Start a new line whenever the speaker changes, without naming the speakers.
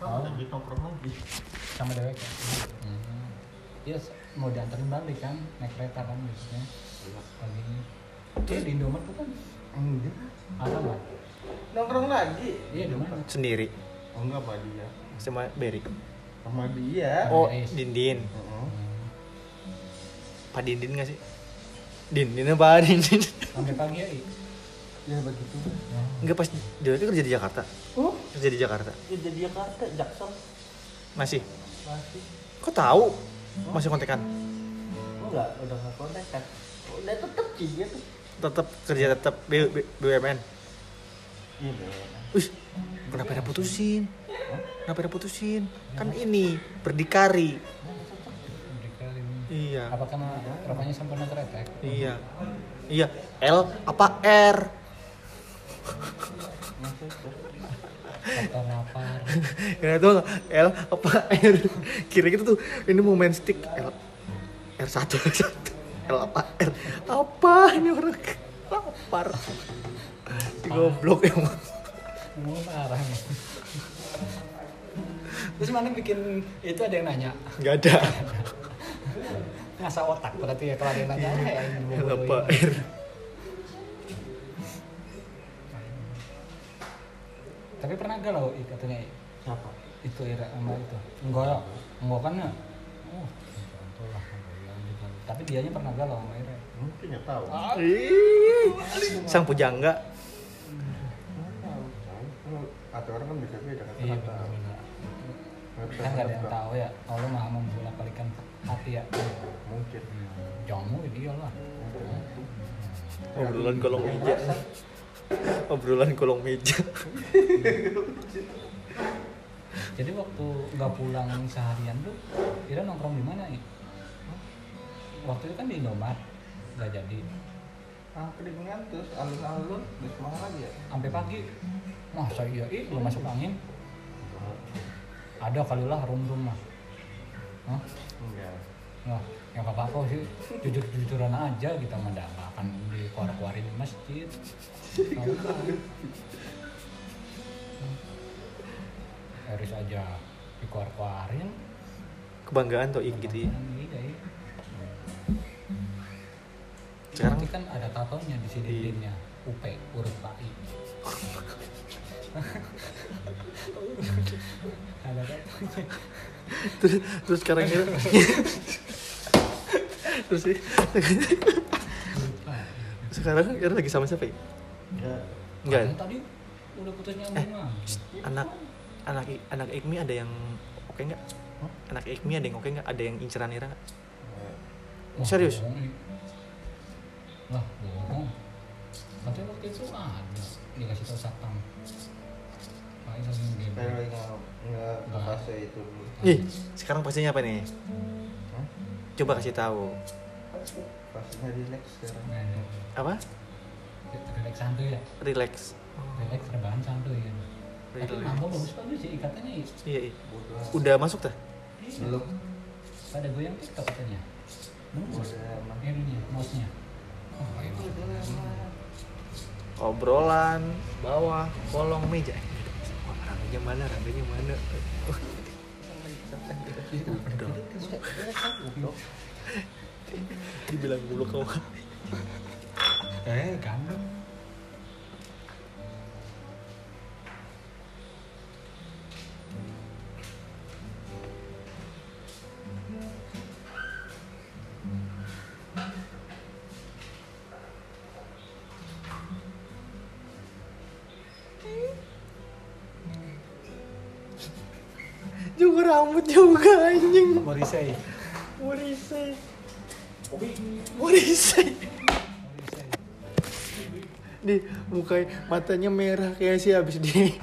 lagi nongkrong lagi
sama dewek ya. Iya mau dianterin balik kan naik kereta kan biasanya pagi ini. Terus di Indomaret tuh kan
enggak
ada nggak?
nongkrong lagi
Iya di mana?
Sendiri
oh enggak sama dia
sama Berry.
sama dia
Oh,
Guys.
Dindin.
Heeh.
Pak Dindin nggak sih? Dindin apa Dindin?
Sampai pagi ya.
ya begitu
Enggak, pas dia itu kerja di Jakarta. Kerja di Jakarta.
ya jadi Jakarta Jaksel
Masih.
masih
Kok tahu? Masih kontekan.
enggak udah nggak kontak kan udah tetep sih dia tuh
Tetap kerja tetap BUMN.
iya bener
Wih, kenapa ada putusin? Kenapa ada putusin? Kan ini berdikari.
Mereka ini.
Iya.
Apa karena rokoknya sempurna keretek?
Iya. Iya, L apa R?
Atau lapar?
Ya itu L apa R? Kira gitu tuh ini mau main stick R1 L apa R? Apa ini orang lapar? Si goblok emang.
Parah nih. Terus mana bikin itu ada yang nanya?
Enggak ada.
Ngasah otak berarti ya kalau ada yang nanya ya yang
L apa R?
Tapi pernah galau katanya
siapa
itu Ira sama itu. Enggak kan ya. Oh, contoh lah. Tapi dianya pernah galau sama Ira.
mungkin nggak tahu
Ih, sang pujangga.
nggak tahu atau orang kan bisa beda kan
Iya
nggak tahu.
benar.
Nggak bisa
Kan nggak ada yang
nebak.
tahu ya. Allah maha membolak balikan hati ya.
mungkin
Jamu dia lah.
Obrolan kolong meja. Obrolan kolong meja.
Jadi waktu nggak pulang seharian tuh, Ira nongkrong di mana ya? Waktu itu kan di Indomaret, nggak jadi.
Angkringan terus alun-alun di Semarang lagi ya
Sampai pagi. Masa iya, belum masuk angin. Ada kali lah rum-rum lah. Hah?
enggak
Nah, ya nggak apa-apa sih. Jujur-jujuran aja kita mah nggak akan dikeluar-keluarin di masjid. Nggak usah. Harus aja dikeluar-keluarin.
Kebanggaan tuh gitu ya.
Iya, iya.
Sekarang
Nanti kan ada tatonya di sini dindingnya UP huruf PAI. Ada tatonya.
terus sekarang kita terus sih sekarang kita lagi sama siapa ya? Enggak.
Katanya tadi udah putus nyambung lagi.
Anak Ikmi ada yang oke nggak? Anak Ikmi ada yang oke nggak? Ada yang inceran Ira nggak?
Wah,
Serius?
bohong nih. Lah, bohong. Katanya waktu itu ada dikasih tahu satpam. Paling lagi game.
saya lagi nggak ke fase itu dulu
Ih, sekarang pastinya apa nih?
Hah?
Coba kasih tahu.
fasenya relax sekarang
Apa?
Relax santuy ya.
Relax.
Relax rebahan santuy ya. Tapi
Relax.
mampu bagus sih ikatannya ya.
Iya, iya.
bodoh
Udah masuk dah?
belum
Pada goyang TikTok katanya.
udah emang
Ininya, mouse-nya. Oh, ayo masuk.
Obrolan bawah kolong meja. Wah, rangganya mana? Rangganya mana? Dibilang dulu kamu.
Gandum.
Juga rambut juga anjing.
Morisei.
Morisei. Morisei. Di mukanya matanya merah kayak sih habis di